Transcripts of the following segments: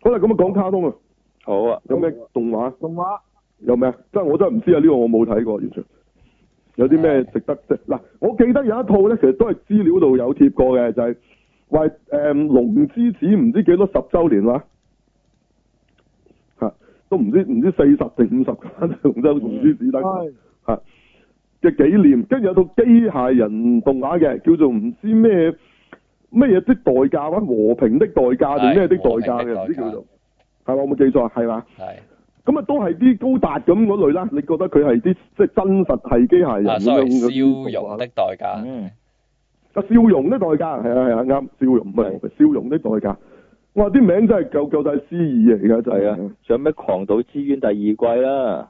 好啦，咁啊講卡通啊， 好啊， 有咩動畫？ 動畫有咩？我真係唔知啊！呢個我冇睇過，完全。有啲咩值得即嗱？我記得有一套咧，其實都係資料度有貼過嘅，就係話龍之子唔知幾多10週年話都唔知40定50間龍之子得嚇嘅紀念，跟住有套機械人動畫嘅，叫做唔知咩嘢的代價啊，和平的代價定咩的代價嘅，唔知叫做係我冇記錯係嘛？ 係。 咁啊，都係啲高達咁嗰類啦。你覺得佢係啲即係真實係機械人咁樣笑容的代價。 笑容的代價係啊啱，笑容唔係笑容的代價。哇！啲名真係夠晒詩意啊！而家就係啊， 仲有咩狂賭之淵第2季啦？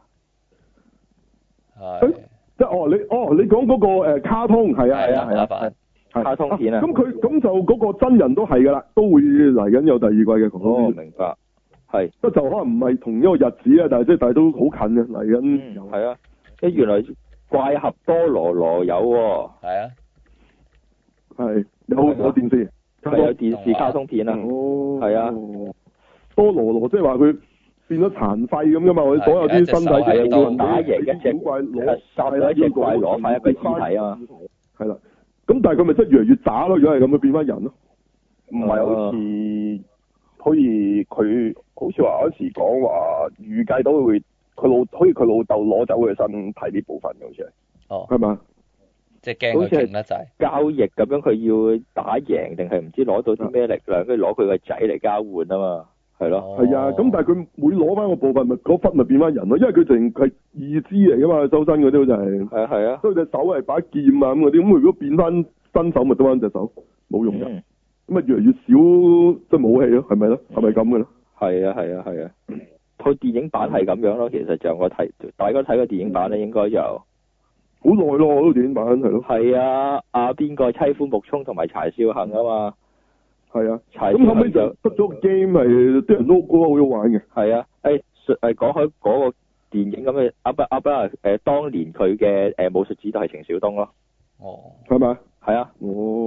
係。 即係你講嗰個卡通係啊， 卡通片啊。 咁就嗰個真人都係㗎啦，都會嚟緊有第2季嘅狂賭之淵。 明白。係， 不過就可能唔係同一個日子啊，但係都好近嘅嚟緊。 係啊，原來怪俠多羅羅有喎。 係啊。 係有電視， 係有電視卡通片啊。 哦。 係啊。 多羅羅即係話佢變咗殘廢咁噶嘛，我哋所有啲身體嘅部分打贏一隻怪攞，殺咗一隻怪攞翻一個屍體啊嘛。 係啦，咁但係佢咪真係越嚟越渣咯？如果係咁，佢變翻人咯。 唔係好似佢好似話嗰時講話預計到會好似佢老豆攞走佢身體呢部分嘅，好似係。 哦。 係嘛？ 即係驚佢勁得滯。 交易咁樣，佢要打贏定係唔知攞到啲咩力量，跟住攞佢個仔嚟交換啊嘛，係咯。 係啊，咁但係佢每攞翻個部分，咪嗰忽咪變翻人咯，因為佢淨係義肢嚟噶嘛，周身嗰啲就係。係啊。所以隻手係把劍啊咁嗰啲，咁如果變翻新手咪得翻隻手，冇用嘅。咁啊，越嚟越少即係武器咯，係咪咯？係咪咁嘅咧？ 係啊。套電影版係咁樣咯，其實就我睇，大家睇個電影版咧，應該就好耐咯，嗰個電影版係咯。 係啊，邊個妻夫木聰同埋柴少恒啊嘛。 係啊。咁後尾就出咗個 game 係啲人都覺得好好玩嘅。 係啊，講開嗰個電影咁嘅當年佢嘅武術指導係程小東咯。 哦。 係咪？ 係啊。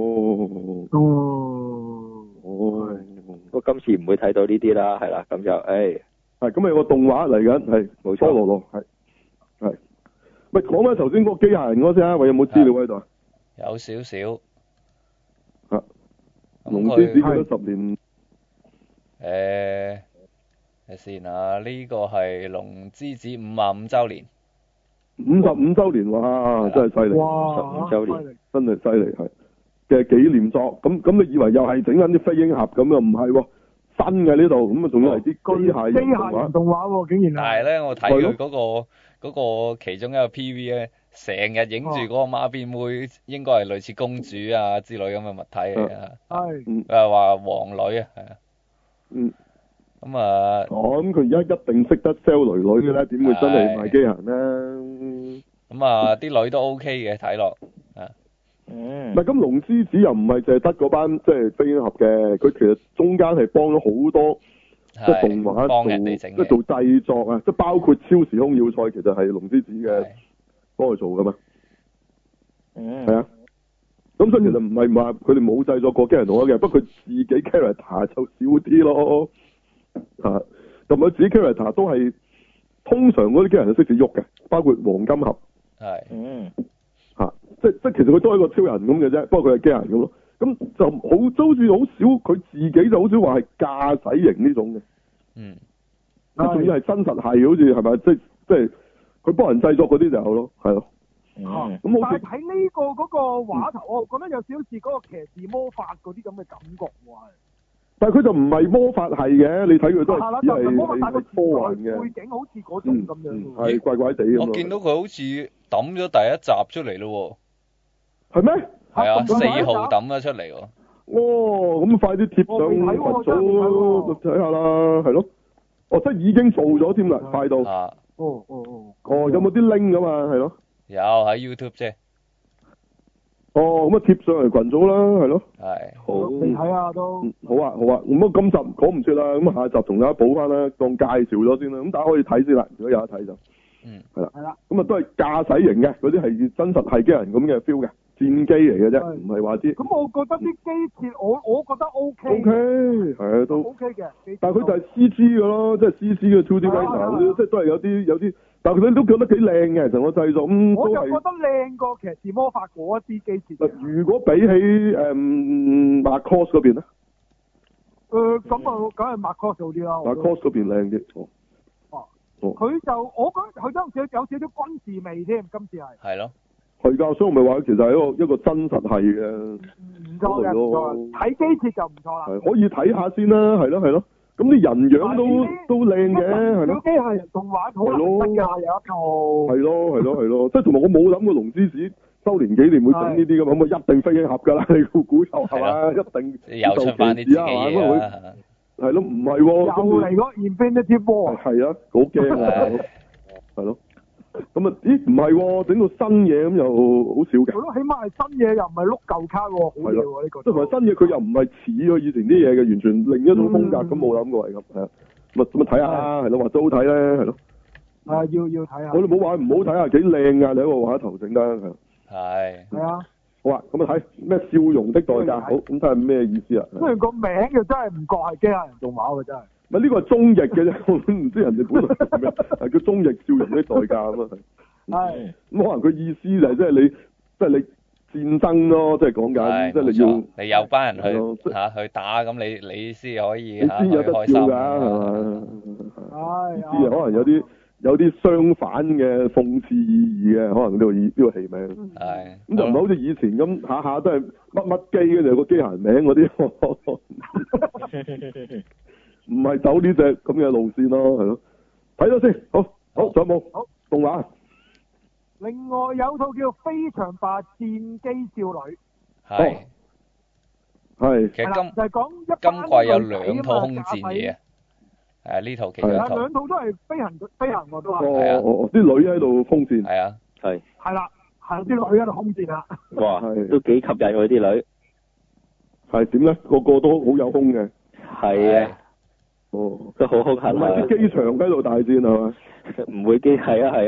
不過今次唔會睇到呢啲啦，係啦，咁就係咁咪有個動畫嚟緊，係冇錯，多羅羅係。咪講翻頭先嗰個機械人嗰先啊，喂，有冇資料喺度啊？ 有少少。 龍之子幾多10年？ 睇先啊，呢個係龍之子55週年。 55週年哇，真係犀利 ！55週年， 真係犀利係嘅紀念作。咁你以為又係整緊啲飛鷹俠咁又唔係喎，新嘅呢度，咁啊仲要係啲機械人動畫喎，竟然但係咧，我睇佢嗰個其中一個 PV 咧，成日影住嗰個孖辮妹，應該係類似公主啊之類咁嘅物體嚟啊。係。佢話皇女啊，係啊。咁啊。 咁佢而家一定識得 sell 女女嘅咧，點會真係賣機械人咧？ 咁啊，啲女都 OK 嘅，睇落啊。 唔係咁，龍之子又唔係淨係得嗰班即係飛鷹俠嘅，佢其實中間係幫咗好多即係動畫幫人哋整即係做製作啊，即係包括超時空要塞，其實係龍之子嘅幫佢做噶嘛。係啊。咁所以其實唔係話佢哋冇製作過機械人動畫嘅，不過佢自己 character 就少啲咯。同埋自己 character 都係通常嗰啲機械人係識得喐嘅，包括黃金俠。 係。 即其實佢都係一個超人咁嘅啫，不過佢係機械人咁咯。咁就好似好少，佢自己就好少話係駕駛型呢種嘅。仲要係真實係，好似係咪？即係佢幫人製作嗰啲就有咯，係咯。咁好似但係睇呢個嗰個畫頭，我覺得有少少似嗰個騎士魔法嗰啲咁嘅感覺喎。 但係佢就唔係魔法係嘅，你睇佢都係只係魔法科幻嘅背景，好似嗰種咁樣。 係怪怪地咁。 我見到佢好似抌咗第一集出嚟咯喎。係咩？ 係啊，4號抌咗出嚟喎。 哦，咁快啲貼上群組睇下啦，係咯。哦，即係已經做咗添啦，快到。 哦， 有冇啲 link 㗎嘛？係咯。 有喺 YouTube 啫。 哦，咁啊貼上嚟群組啦，係咯。 係。 好。 你睇下都。 好啊，咁啊今集講唔切啦，咁下集同大家補翻啦，當介紹咗先啦，咁大家可以睇先啦，如果有得睇就。係啦。咁啊都係駕駛型嘅，嗰啲係真實係機器人咁嘅 feel 嘅。 戰機嚟嘅啫，唔係話啲。 咁我覺得啲機設我覺得 OK。 OK， 係啊，都 OK 嘅。 但係佢就係 CG 嘅咯，即係 CG 嘅 2D Racer 即係都係有啲，但係佢都覺得幾靚嘅成個製作咁。 我就覺得靚過騎士魔法嗰一啲機設。 如果比起Macross 嗰邊咧？ 咁啊，梗係 Macross 好啲啦。 Macross 嗰邊靚啲。 佢就我覺得佢都有少少軍事味添，今次係。 係咯。 係㗎，所以我咪話其實係一個真實係嘅。 唔錯嘅，唔錯。睇機設就唔錯啦。 係可以睇下先啦，係咯。咁啲人樣都靚嘅，係咯。 機械人動畫好難得㗎，有一套。 係咯，即係同埋我冇諗過龍之子周年紀念會整呢啲㗎嘛，咁啊一定飛機俠㗎啦，你估就係嘛，一定。 又出翻啲自己嘢啊！ 係咯，唔係喎。 又嚟嗰 Infinity War。 係啊，好驚啊！係咯。咁啊？咦，唔係喎，整到新嘢咁又好少嘅。 係咯，起碼係新嘢，又唔係碌舊卡喎，好嘢喎呢個。 即係同埋新嘢，佢又唔係似咗以前啲嘢嘅，完全另一種風格，咁冇諗過係咁，係啊。咪睇下，係咯，或者好睇咧，係咯。 要睇下。 我哋冇話唔好睇下，幾靚啊！你喺個畫頭整得係。 係啊。 好啊，咁啊睇咩笑容的代價？好，咁睇下咩意思啊？ 雖然個名就真係唔覺係機械人動畫嘅真係。 咪呢個係中譯嘅啫，我唔知人哋本來係咩，係叫中譯笑容的代價咁啊。 係。 咁可能佢意思就係即係你戰爭咯，即係講緊，即係你要你有班人去打，咁你先可以你先有得笑㗎，係嘛？知可能有啲相反嘅諷刺意義嘅，可能呢個戲名。 係。 咁就唔係好似以前咁下下都係乜機嘅，就有個機械人名嗰啲。唔係走呢隻咁嘅路線咯，係咯。睇咗先，好，仲有冇？好，動畫。 另外有套叫《非常吧戰機少女》。 係。 其實就係講今季有兩套空戰嘢啊。呢套其中一套。 兩套都係飛行我都話。 啲女喺度空戰。 係啊。係。 係啦，係啲女喺度空戰啦。 哇，都幾吸引喎啲女。 係點咧？個個都好有空嘅。 係啊。都好兇狠啊！ 唔係啲機場喺度大戰係嘛？ 唔會機係啊！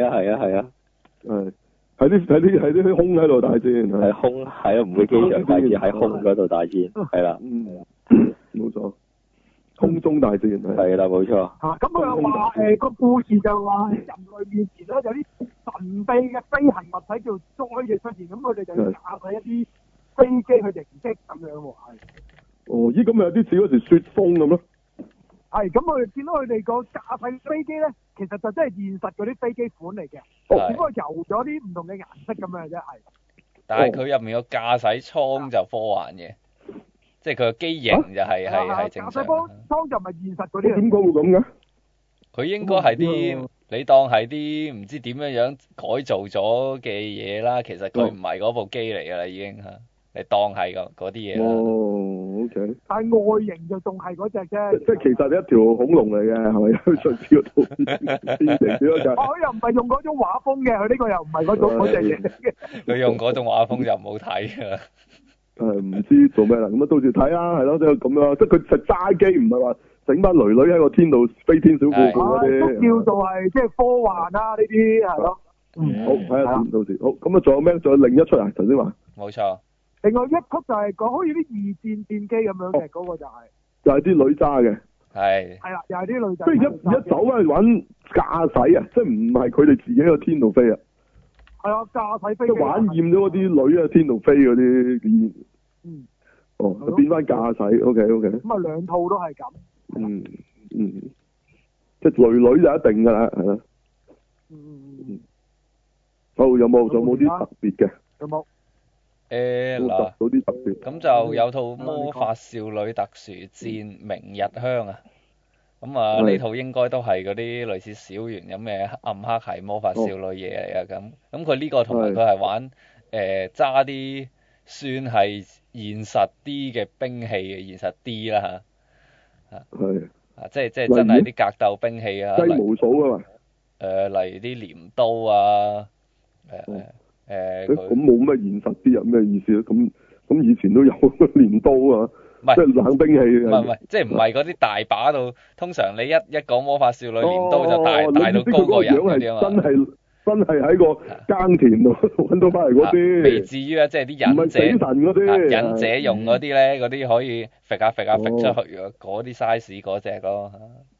係啲空喺度大戰係空係啊！唔會機場大戰喺空嗰度大戰係啦。 冇錯，空中大戰係啦，冇錯。 咁佢又話個故事就話人類面前咧有啲神秘嘅飛行物體叫災嘅出現，咁佢哋就要駕駛一啲飛機去迎擊咁樣喎，係。咦，咁咪有啲似嗰時雪風咁咯？係，咁我哋見到佢哋個駕駛飛機咧，其實就真係現實嗰啲飛機款嚟嘅，只不過油咗啲唔同嘅顏色咁樣啫，係。 但係佢入面個駕駛艙就科幻嘅，即係佢個機型就係正常。駕駛艙就唔係現實嗰啲。 點解會咁嘅？ 佢應該係啲你當係啲唔知點樣改造咗嘅嘢啦，其實佢唔係嗰部機嚟㗎啦，已經嚇。你當係嗰啲嘢啦。 OK。 但係外形就仲係嗰隻啫。 即係其實一條恐龍嚟嘅，係咪？上次嗰套變成咗就。 佢又唔係用嗰種畫風嘅，佢呢個又唔係嗰隻嘢。 佢用嗰種畫風就唔好睇㗎。 唔知做咩啦，咁啊到時睇啦，係咯，即係咁樣，即係佢實揸機，唔係話整班女女喺個天度飛天小褲嗰啲。都叫做係即係科幻啦，呢啲係咯。 好，睇下到時。好，咁啊，仲有咩？仲有另一出啊？頭先話。 冇錯。 另外一曲就係講好似啲二戰戰機咁樣嘅，嗰個就係啲女揸嘅， 係啦，又係啲女仔。 即係一走翻去揾駕駛啊，即係唔係佢哋自己喺個天度飛啊？ 係啊，駕駛飛機。 即係玩厭咗嗰啲女喺天度飛嗰啲。變翻駕駛 ，OK。 咁啊，兩套都係咁。 即係女就一定㗎啦，係啦。好，有冇啲特別嘅？ 有冇？ 嗱， 啲特別咁就有套魔法少女特殊戰明日香啊，咁啊呢套應該都係嗰啲類似小圓咁嘅暗黑系魔法少女嘢嚟啊，咁佢呢個同埋佢係玩揸啲算係現實啲嘅兵器嘅，現實啲啦嚇，即係真係啲格鬥兵器啊， 雞毛掃啊嘛， 例如啲鐮刀啊， 咁冇咩現實啲有咩意思咧？咁以前都有鐮刀啊，即係冷兵器。 唔係，即係唔係嗰啲大把到，通常你一講魔法少女鐮刀就大到高過人嗰啲啊嘛。 真係喺個耕田度揾到翻嚟嗰啲。 未至於啊，即係啲忍者。唔係死神嗰啲。 忍者用嗰啲咧，嗰啲可以揈下出去嗰啲 size 嗰隻咯。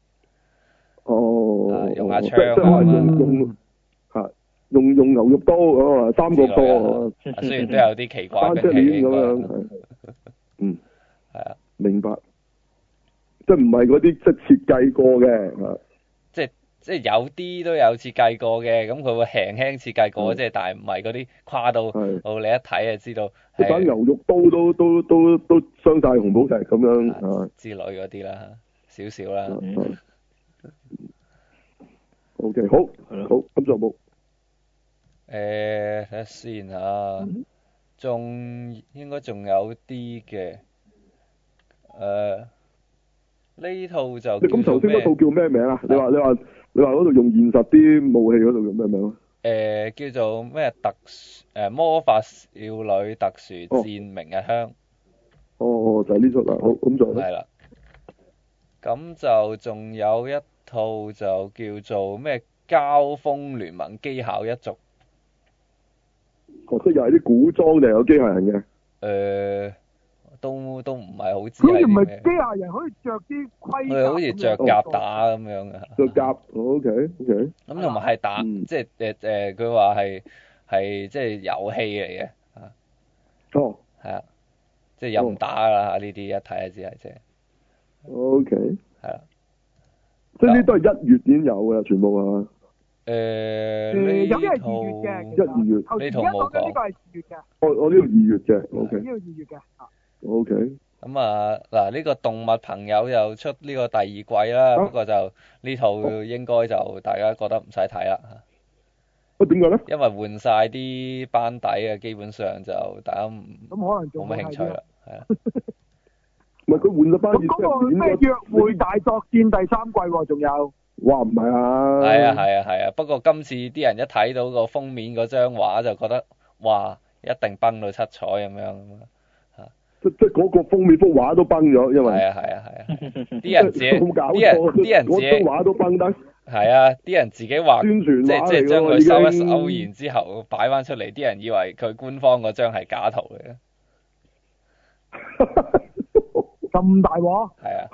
哦。 用下槍即係用牛肉刀啊，三角刀。 雖然都有啲奇怪嘅兵器咁樣。嗯。 係啊。 明白。即係唔係嗰啲即係設計過嘅。 即係有啲都有設計過嘅，咁佢會輕輕設計過，即係但係唔係嗰啲誇到你一睇就知道。 把牛肉刀都傷晒紅寶石咁樣之類嗰啲啦，少少啦。 OK， 好，咁仲有冇？ 睇下先嚇，應該仲有啲嘅。呢套就你咁頭先嗰套叫咩名啊？你話嗰度用現實啲武器嗰度叫咩名啊？ 叫做咩魔法少女特殊戰明日香。 就係呢出啦。好，咁就係啦。咁就仲有一套就叫做咩交鋒聯盟機械一族。 即又係啲古裝定有機械人嘅？ 都唔係好知。 好似唔係機械人可以着啲盔甲。 佢好似着甲打咁樣嘅。 着甲 ，OK。咁同埋係打，即係佢話係即係遊戲嚟嘅。 哦。 係啊，即係又唔打啦呢啲一睇就知係即係。 OK。係啊。 即係呢啲都係1月已經有嘅，全部係嘛？ 有啲係2月嘅。 1、2月。 呢套冇講。 呢個係2月嘅。 我呢度2月嘅 ，OK。 呢個2月嘅。 O K， 咁嗱呢個動物朋友又出呢個第二季啦，不過就呢套應該就大家覺得唔使睇啦。 點解咧？ 因為換晒啲班底嘅，基本上就大家咁可能冇乜興趣啦，係啊。 唔係佢換咗班。 咁嗰個咩約會大作戰第3季喎？仲有？ 哇，唔係啊！ 係啊，不過今次啲人一睇到個封面嗰張畫就覺得哇，一定崩到七彩咁樣。 即嗰個封面幅畫都崩咗，因為係啊，啲人自己啲人自己畫都崩得。 係啊，啲人自己畫宣傳畫嚟即係將佢收一收，然之後擺翻出嚟，啲人以為佢官方嗰張係假圖嚟嘅。 咁大鑊？ 係啊。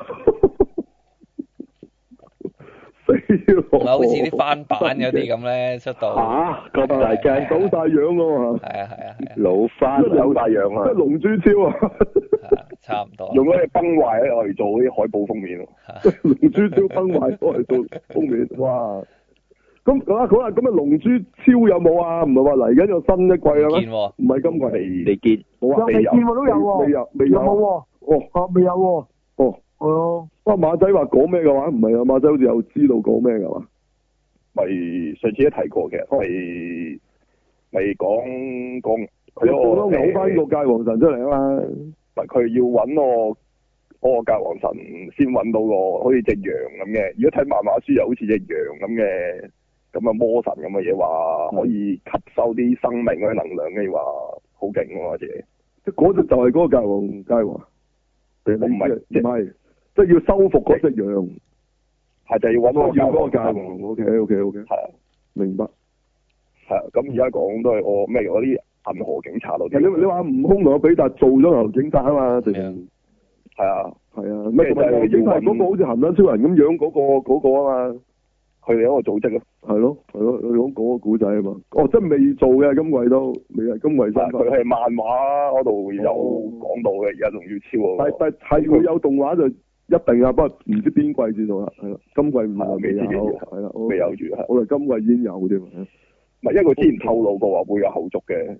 好似啲翻版嗰啲咁咧出到咁大鏡走晒樣㗎嘛。 係啊， 老翻有大樣啊！ 即係龍珠超啊！ 差唔多。 用嗰啲崩壞咧，我嚟做啲海報封面咯。 龍珠超崩壞我嚟做封面，哇！咁好啦，咁龍珠超有冇啊？唔係話嚟緊有新一季啊咩？ 見喎。 唔係今季。 未見。 冇啊。 未見喎，都有喎。 未有冇喎。未有喎。 哦。馬仔話講咩嘅話？唔係啊，馬仔好似有知道講咩嘅話。 咪上次都提過嘅，咪講佢我都嘔翻個界王神出嚟啊嘛。 咪佢要揾我個界王神先揾到個好似隻羊咁嘅。如果睇漫畫書又好似隻羊咁嘅，咁啊魔神咁嘅嘢話可以吸收啲生命嗰啲能量嘅話好勁喎，或者即嗰隻就係嗰個界王。唔係，即係要收復嗰隻羊。 係就要揾嗰個界王。O K。 係啊， 明白。 係啊，咁而家講都係我咩嗰啲銀河警察咯。 你話悟空同阿比達做咗銀河警察啊嘛？定係啊。 咩就係警察嗰個好似鹹蛋超人咁樣嗰個啊嘛？ 佢哋一個組織咯。 係咯，佢講嗰個古仔啊嘛。哦，即係未做嘅，今季都未係今季新。 佢係漫畫嗰度有講到嘅，而家仲要超。 但係佢有動畫就一定啊，不過唔知邊季至到啦，係啦，今季唔係未有，係啦， 未有住係。 我哋今季已經有添。 唔係，因為佢之前透露過話會有後續嘅。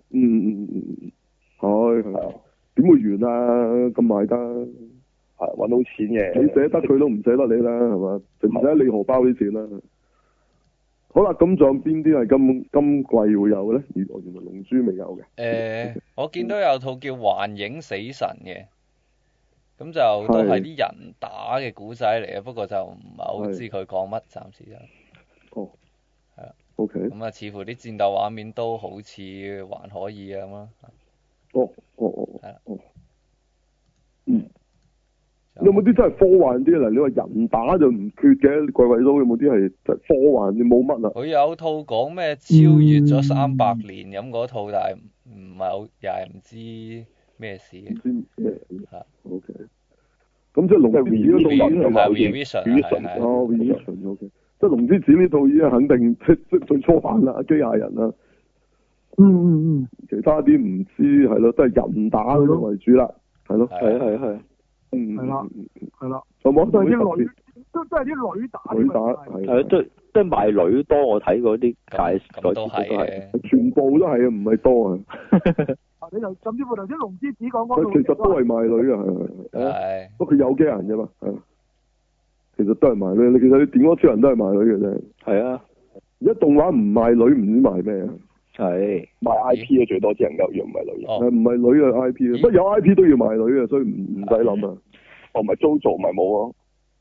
係啊。 點會完啊？咁賣得。 係揾到錢嘅。 你捨得佢都唔捨得你啦，係嘛？就唔使你荷包啲錢啦。好啦，咁仲有邊啲係今季會有咧？原來龍珠未有嘅。 我見到有套叫《幻影死神》嘅，咁就都係啲人打嘅古仔嚟嘅，不過就唔係好知佢講乜，暫時就。 哦。 係啊。 O K。 咁似乎啲戰鬥畫面都好似還可以咁咯。 係啦。 有冇啲真係科幻啲啊？你話人打就唔缺嘅，鬼鬼都有冇啲係真係科幻嘅冇乜啊？ 佢有套講咩超越咗300年咁嗰套，但係唔係好，又係唔知咩事嘅。 唔知咩嚇 ？OK。咁即係龍之子嗰套已經係 Revision 哦 Revision OK。即係龍之子呢套已經肯定即最初版啦，機械人啦。其他啲唔知係咯，都係人打嗰種為主啦，係咯。 係。 係啦。 仲有冇都係啲女，都係啲女打。 女打係。 係都係賣女多，我睇嗰啲介咁都係嘅。 全部都係啊，唔係多啊。 你就甚至乎頭先龍之子講嗰套， 其實都係賣女啊， 係。 不過佢有機人啫嘛，係。其實都係賣女，其實你電光超人都係賣女嘅啫。 係啊。 而家動畫唔賣女，唔知賣咩啊？ 係賣 I P 嘅最多只能夠，如果唔係女嘅。 唔係女嘅 I P 不過有 I P 都要賣女嘅，所以唔使諗啊。 唔係 JoJo 咪冇咯。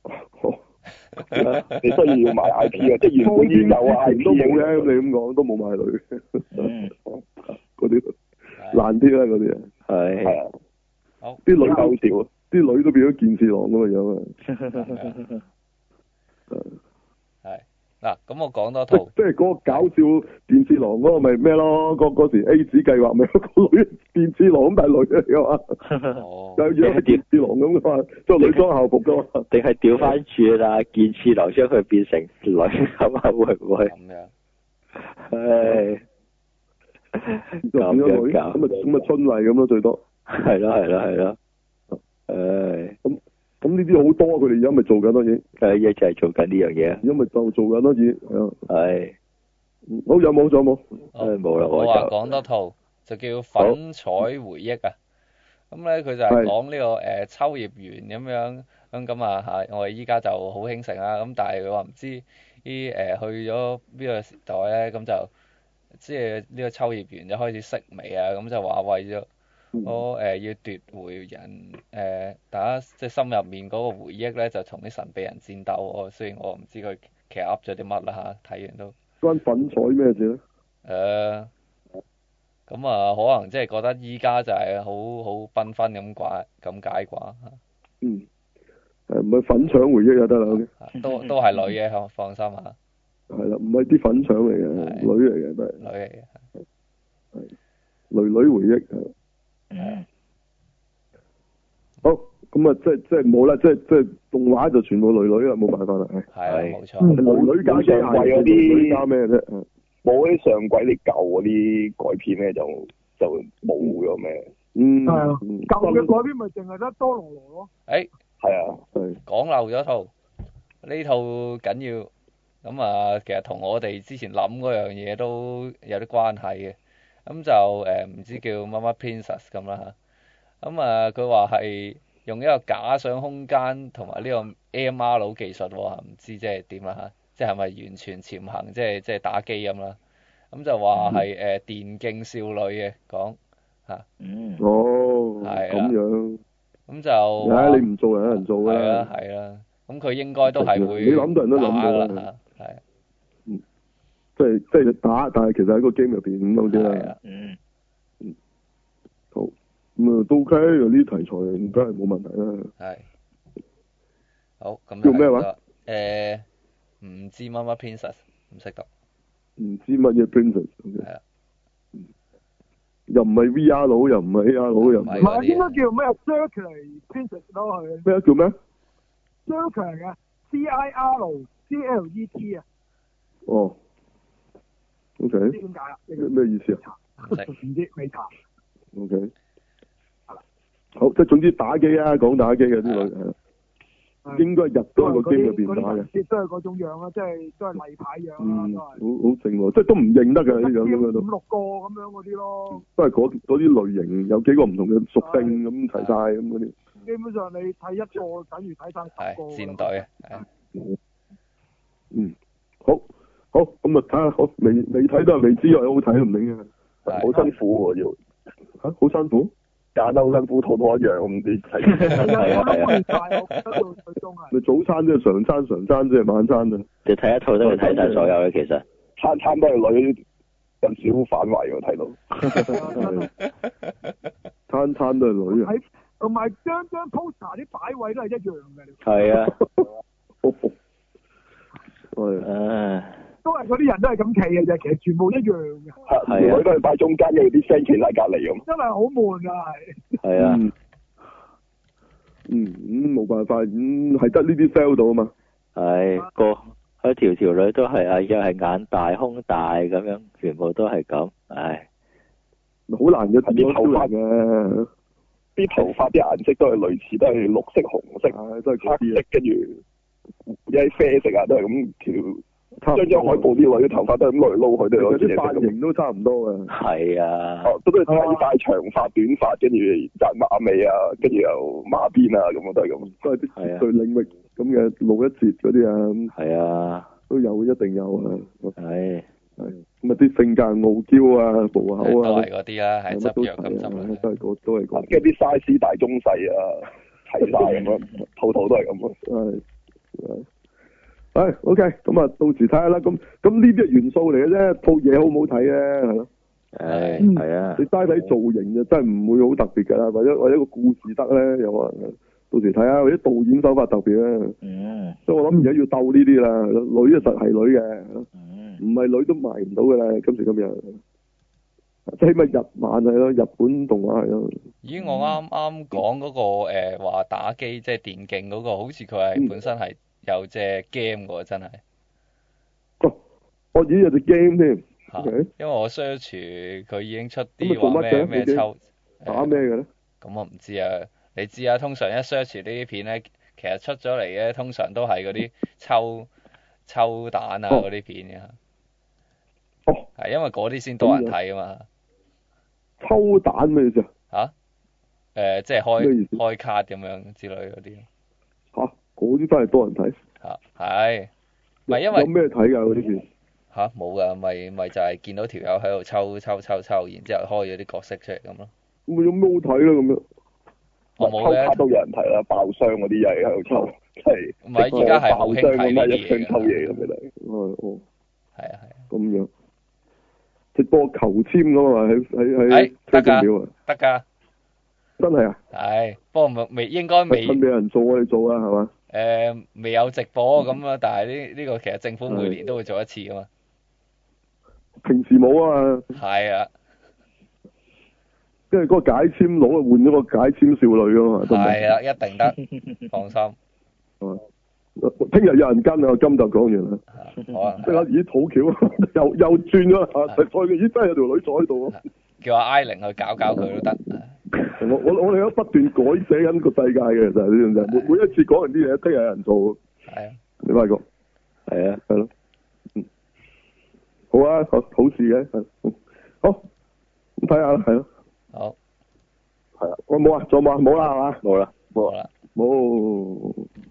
你需要賣 I P 啊，即係原本已經有 I P 都冇嘅，咁你咁講都冇賣女。嗰啲難啲啦，嗰啲啊。 係啊。 好。 啲女夠少，啲女都變咗健次郎咁嘅樣啊。 係。嗱，咁我講多套， 即係嗰個搞笑電次郎嗰個咪咩咯？嗰時 A 子計劃咪有個女電次郎咁，但係女嚟嘅嘛，又樣係電次郎咁嘅嘛，做女裝校服嘅嘛。 定係調翻轉啦？電次郎將佢變成女咁啊？會唔會？ 咁樣。 唉， 咁樣咁啊春麗咁咯，最多。 係咯。唉。 咁呢啲好多，佢哋而家咪做緊咯，已經。 一就係做緊呢樣嘢。 而家咪就做緊咯，已經係啊。 係。 好，有冇？仲有冇？ 冇啦， 我話講多套就叫粉彩回憶啊。咁咧佢就係講呢個秋葉原咁樣咁啊嚇，我哋依家就好興盛啦。咁但係佢話唔知啲去咗邊個時代咧，咁就即係呢個秋葉原就開始式微啊。咁就話為咗我要奪回人大家即係心入面嗰個回憶咧，就同啲神秘人戰鬥。雖然我唔知佢其實噏咗啲乜啦嚇，睇完都關粉彩咩事咧？ 咁啊，可能即係覺得依家就係好繽紛咁解啩。 唔係粉腸回憶就得啦。 都係女嘅，放心嚇。 係啦，唔係啲粉腸嚟嘅，女嚟嘅都係。 女嚟嘅。 係。女回憶好，咁啊，即係冇啦，即係動畫就全部女啦，冇辦法啦， 係冇錯。 女加機械嗰啲加咩啫？ 冇嗰啲上季啲舊嗰啲改編咧，就冇咗咩。 係啊，舊嘅改編咪淨係得多羅羅咯。 係啊， 講漏咗套，呢套緊要。咁啊，其實同我哋之前諗嗰樣嘢都有啲關係嘅。咁就唔知叫乜乜 Princess 咁啦嚇。咁啊，佢話係用一個假想空間同埋呢個 AMR 技術喎，唔知即係點啦嚇，即係咪完全潛行，即係打機咁啦。咁就話係電競少女嘅講嚇。 哦。 係咁樣。 咁就。 你唔做人有人做㗎啦。 係啦。咁佢應該都係會。 你諗到人都諗到啦。 係。 即係打，但係其實喺個 game 入邊咁嗰啲啦。好，咁啊都 OK，有啲題材梗係冇問題啦。 係。好，咁叫咩話？ 唔知乜乜 Princess， 唔識讀。 唔知乜嘢 Princess。 係啊。 又唔係 VR 佬，又唔係 AR 佬，又唔係。 唔係應該叫咩 Circular Princess 咯，係。 咩叫咩 ？Circular 嘅 CIRCLET 啊。 哦。O K。 唔知點解啊？ 咩意思啊？ 唔知未查。 O K。好，即係總之打機啊，講打機嘅啲女應該入到個 game 入邊打嘅。 都係嗰種樣啊，即係都係例牌樣啦，都係。 好正喎，即係都唔認得嘅呢樣咁樣都。 5、6個咁樣嗰啲咯。 都係嗰啲類型，有幾個唔同嘅屬性咁齊晒咁嗰啲。 基本上你睇一個等於睇晒10個。 係戰隊啊。 好，咁啊睇下，好未睇都係未知，好睇唔明嘅。 好辛苦喎要。 嚇！好辛苦。 揀得好辛苦，套套一樣咁啲你早餐即係常餐，常餐即係晚餐啊！ 你睇一套都要睇晒所有嘅，其實餐都係女，有少反胃喎睇到。 餐都係女啊！ 同埋張 poster 啲擺位都係一樣嘅。 係啊。 都係嗰啲人都係咁企嘅啫，其實全部一樣嘅。 係啊，都係擺中間嘅，啲 friend 企喺隔離咁。 真係好悶啊，係。 係啊。 冇辦法，係得呢啲 sell 到啊嘛。 係佢條女都係啊，又係眼大胸大咁樣，全部都係咁，唉。 好難嘅，啲頭髮嘅， 啲頭髮啲顏色都係類似，都係綠色、紅色、都係黑色，跟住一啲啡色啊，都係咁條。張海報啲女嘅頭髮都係咁嚟撈去，都係啲髮型都差唔多嘅。 係啊。 都係睇晒長髮、短髮，跟住紮馬尾啊，跟住又馬辮啊，咁都係咁。 都係啲對領域咁嘅露一截嗰啲啊。 係啊。 都有，一定有啊。 係。 咁啊啲性格傲嬌啊，暴口啊， 都係嗰啲啦，係執藥咁執啦， 都係嗰。 跟住啲 size 大中細啊，睇晒咁樣，套套都係咁啊。係，OK，咁啊，到時睇下啦。咁呢啲係元素嚟嘅啫，套嘢好唔好睇咧？係咯。 係啊。 你齋睇造型就真係唔會好特別㗎啦，或者個故事得咧，有可能。到時睇下，或者導演手法特別咧。所以我諗而家要鬥呢啲啦，女就實係女嘅。唔係女都賣唔到㗎啦，今時今日，即係起碼日漫係咯，日本動畫係咯。 咦，我啱啱講嗰個話打機即係電競嗰個，好似佢係本身係有隻 game 喎，真係。 我咦有隻 game 添。 因為我 search 佢已經出啲話咩抽打咩嘅咧？ 咁我唔知啊，你知啊，通常一 search 呢啲片咧，其實出咗嚟嘅通常都係嗰啲抽蛋啊嗰啲片嘅。係因為嗰啲先多人睇啊嘛。 抽蛋咩意思啊？即係開卡咁樣之類嗰啲。 嗰啲真係多人睇。 係。唔係因為。 有咩睇㗎嗰啲片？ 冇㗎，咪就係見到條友喺度抽，然之後開咗啲角色出嚟咁咯。 咁有咩好睇咧？咁樣。 我冇咧。 抽卡都有人睇啦，爆箱嗰啲又係喺度抽，係。 唔係，依家係好興睇呢啲嘢。 一箱抽嘢咁嘅嚟。 係啊。 咁樣。直播求簽㗎嘛，喺得㗎，得㗎， 真係啊！ 係，不過應該未。 趁未有人做我哋做啊，係嘛？ 未有直播咁啊，但係呢個其實政府每年都會做一次㗎嘛。 平時冇啊嘛。係啊。 跟住嗰個解簽佬啊，換咗個解簽少女啊嘛。 係啊，一定得，放心。 聽日有人跟啊，今集講完啦。即刻咦，好巧，又轉咗啦，咦真係有條女坐喺度啊！ 叫阿 I 玲去搞佢都得。 我哋都不斷改寫緊個世界嘅，其實呢樣嘢，每一次講完啲嘢，聽日有人做。 係啊。 你發覺？係啊，係咯。好啊，好事嘅，好，咁睇下啦，係咯。 好。 係啊，我冇啊，仲有冇啊？冇啦，係嘛？ 冇啦。 冇。